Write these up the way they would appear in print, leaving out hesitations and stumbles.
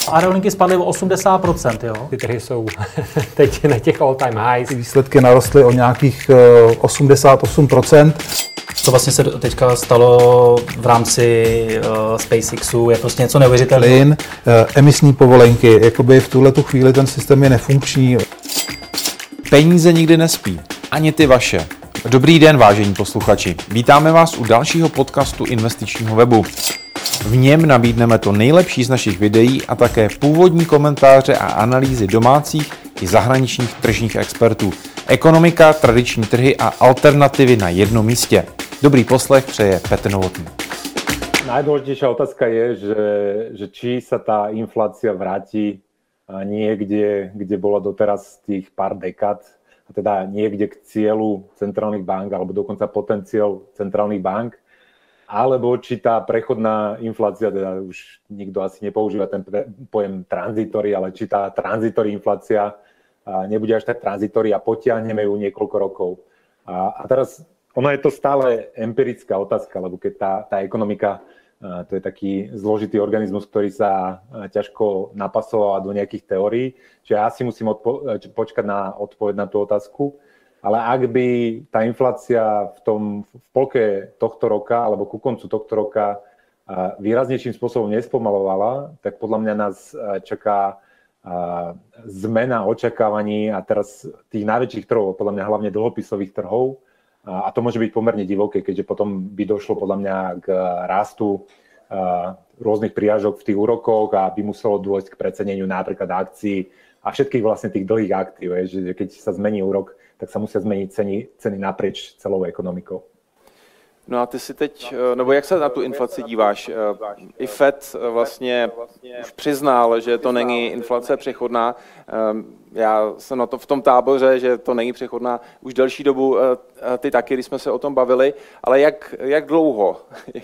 aerolinky spadly o 80%, jo? Ty trhy jsou teď na těch all-time highs. Výsledky narostly o nějakých 88%. Co vlastně se teďka stalo v rámci SpaceXu, je prostě něco neuvěřitelného. Plyn, emisní povolenky, jakoby v tuhletu chvíli ten systém je nefunkční. Peníze nikdy nespí, ani ty vaše. Dobrý den, vážení posluchači. Vítáme vás u dalšího podcastu investičního webu. V něm nabídneme to nejlepší z našich videí a také původní komentáře a analýzy domácích i zahraničních tržních expertů. Ekonomika, tradiční trhy a alternativy na jednom místě. Dobrý poslech přeje Petr Novotný. Najdôležitejšia otázka je, že či sa tá inflácia vráti niekde, kde bola doteraz tých pár dekád, a teda niekde k cieľu centrálnych bank, alebo dokonca potenciál centrálnych bank, alebo či tá prechodná inflácia, teda už nikto asi nepoužíva ten pojem tranzitory, ale či tá tranzitory inflácia nebude až tak tranzitory a potiahneme ju niekoľko rokov. A teraz ono je to stále empirická otázka, lebo keď tá ekonomika, to je taký zložitý organizmus, ktorý sa ťažko napasoval do nejakých teórií, čiže ja si musím počkať na odpoveď na tú otázku. Ale ak by tá inflácia v polke tohto roka alebo ku koncu tohto roka výraznejším spôsobom nespomalovala, tak podľa mňa nás čaká zmena očakávaní a teraz tých najväčších trhov, podľa mňa hlavne dlhopisových trhov, a to môže byť pomerne divoké, keďže potom by došlo podľa mňa k rastu rôznych prirážok v tých úrokoch a by muselo dôjsť k preceneniu napríklad akcií a všetkých vlastne tých dlhých aktív, že keď sa zmení úrok, tak sa musia zmeniť ceny naprieč celou ekonomikou. No a ty si teď, nebo jak se na tu inflaci díváš? I Fed vlastně už přiznal, že to není inflace přechodná. Já jsem na to v tom táboře, že to není přechodná už delší dobu, ty taky, když jsme se o tom bavili, ale jak dlouho?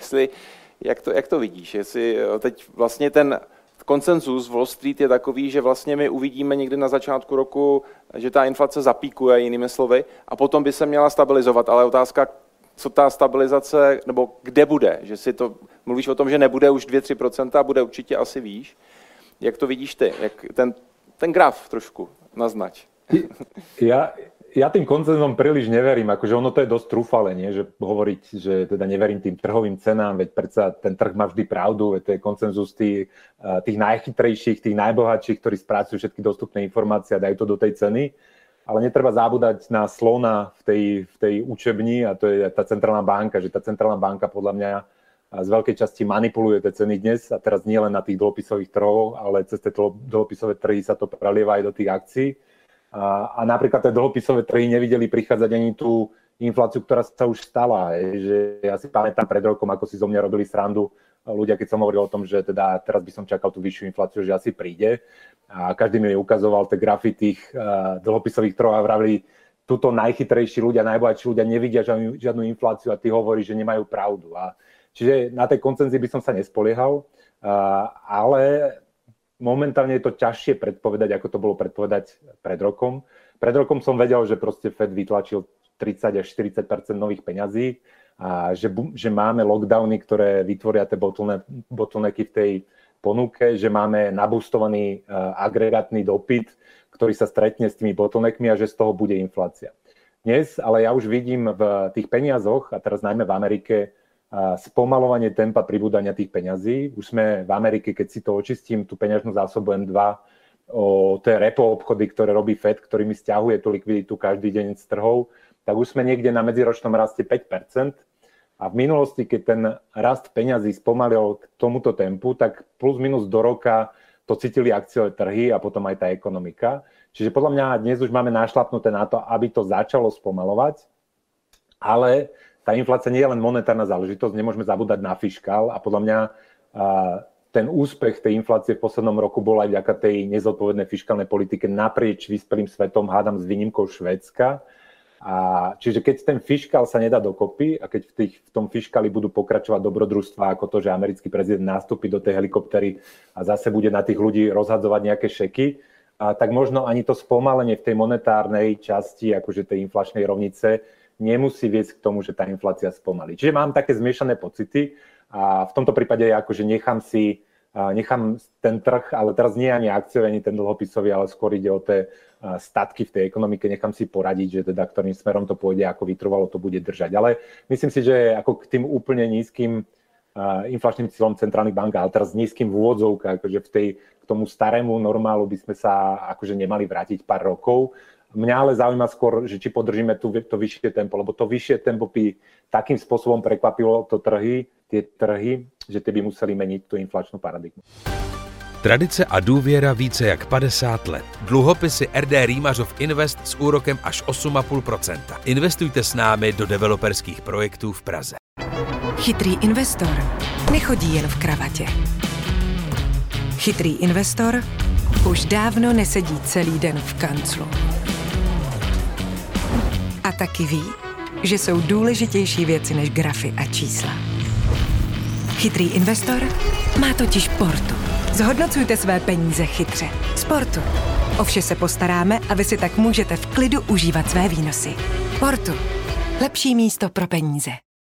Jak to vidíš? Jestli teď vlastně ten konsenzus Wall Street je takový, že vlastně my uvidíme někdy na začátku roku, že ta inflace zapíkuje, jinými slovy, a potom by se měla stabilizovat, ale otázka, co ta stabilizace, nebo kde bude, že si to, mluvíš o tom, že nebude už 2-3% a bude určitě asi výš. Jak to vidíš ty? Jak ten graf trošku naznač. Ja tým koncenzom príliš neverím, akože ono to je dosť trúfale, nie? Že hovoriť, že teda neverím tým trhovým cenám, veď predsa ten trh má vždy pravdu, veď to je koncenzus tých najchytrejších, tých najbohatších, ktorí spracujú všetky dostupné informácie a dajú to do tej ceny. Ale netreba zabúdať na slona v tej učebni a to je tá centrálna banka, že tá centrálna banka podľa mňa z veľkej časti manipuluje tie ceny dnes a teraz nie len na tých dlhopisových trhoch, ale cez tie dlhopisové trhy sa to prelieva aj do tých akcií. A napríklad tie dlhopisové trhy nevideli prichádzať ani tú infláciu, ktorá sa už stala. Že ja si pamätám pred rokom, ako si zo mňa robili srandu ľudia, keď som hovoril o tom, že teda teraz by som čakal tú vyššiu infláciu, že asi príde. A každý mi ukazoval tie grafy tých dlhopisových trhov a vravili, tuto najchytrejší ľudia, najbohatší ľudia nevidia žiadnu infláciu a ty hovoríš, že nemajú pravdu. Čiže na tej koncenzii by som sa nespoliehal, ale momentálne je to ťažšie predpovedať, ako to bolo predpovedať pred rokom. Pred rokom som vedel, že proste Fed vytlačil 30 až 40% nových peňazí a že máme lockdowny, ktoré vytvoria tie bottlenecky v tej ponuke, že máme nabustovaný agregátny dopyt, ktorý sa stretne s tými bottleneckmi a že z toho bude inflácia. Dnes, ale ja už vidím v tých peniazoch, a teraz najmä v Amerike, spomalovanie tempa pribúdania tých peňazí. Už sme v Amerike, keď si to očistím, tú peňažnú zásobu M2, o tie repo obchody, ktoré robí Fed, ktorými stiahuje tú likviditu každý deň z trhov, tak už sme niekde na medziročnom raste 5%. A v minulosti, keď ten rast peňazí spomalil k tomuto tempu, tak plus minus do roka to cítili akciové trhy a potom aj tá ekonomika. Čiže podľa mňa dnes už máme našlapnuté na to, aby to začalo spomalovať, ale tá inflácia nie je len monetárna záležitosť, nemôžeme zabúdať na fiškál a podľa mňa ten úspech tej inflácie v poslednom roku bol aj vďaka tej nezodpovednej fiškálnej politike naprieč vyspelým svetom, hádam s výnimkou Švédska. Čiže keď ten fiškál sa nedá dokopy a keď v tom fiškáli budú pokračovať dobrodružstvá ako to, že americký prezident nastúpi do tej helikoptery a zase bude na tých ľudí rozhadzovať nejaké šeky, tak možno ani to spomalenie v tej monetárnej časti, akože tej inflačnej rovnice, nemusí viesť k tomu, že tá inflácia spomalí. Čiže mám také zmiešané pocity a v tomto prípade akože nechám si nechám ten trh, ale teraz nie ani akciový, ani ten dlhopisový, ale skôr ide o tie statky v tej ekonomike, nechám si poradiť, že teda ktorým smerom to pôjde, ako vytrvalo to bude držať. Ale myslím si, že ako k tým úplne nízkym inflačným cieľom centrálnych bank, ale teraz nízkym v úvodzovkách, akože k tomu starému normálu by sme sa akože nemali vrátiť pár rokov. Mňa ale zaujíma skôr, že či podržíme to vyššie tempo, lebo to vyššie tempo by takým spôsobom prekvapilo tie trhy, že ty by museli meniť tú inflačnú paradigmu. Tradice a důvěra více jak 50 let. Dluhopisy RD Rýmařov Invest s úrokem až 8,5%. Investujte s námi do developerských projektů v Praze. Chytrý investor nechodí jen v kravatě. Chytrý investor už dávno nesedí celý den v kanclu. A taky ví, že jsou důležitější věci než grafy a čísla. Chytrý investor má totiž Portu. Zhodnocujte své peníze chytře. Sportu. O vše se postaráme a vy si tak můžete v klidu užívat své výnosy. Portu. Lepší místo pro peníze.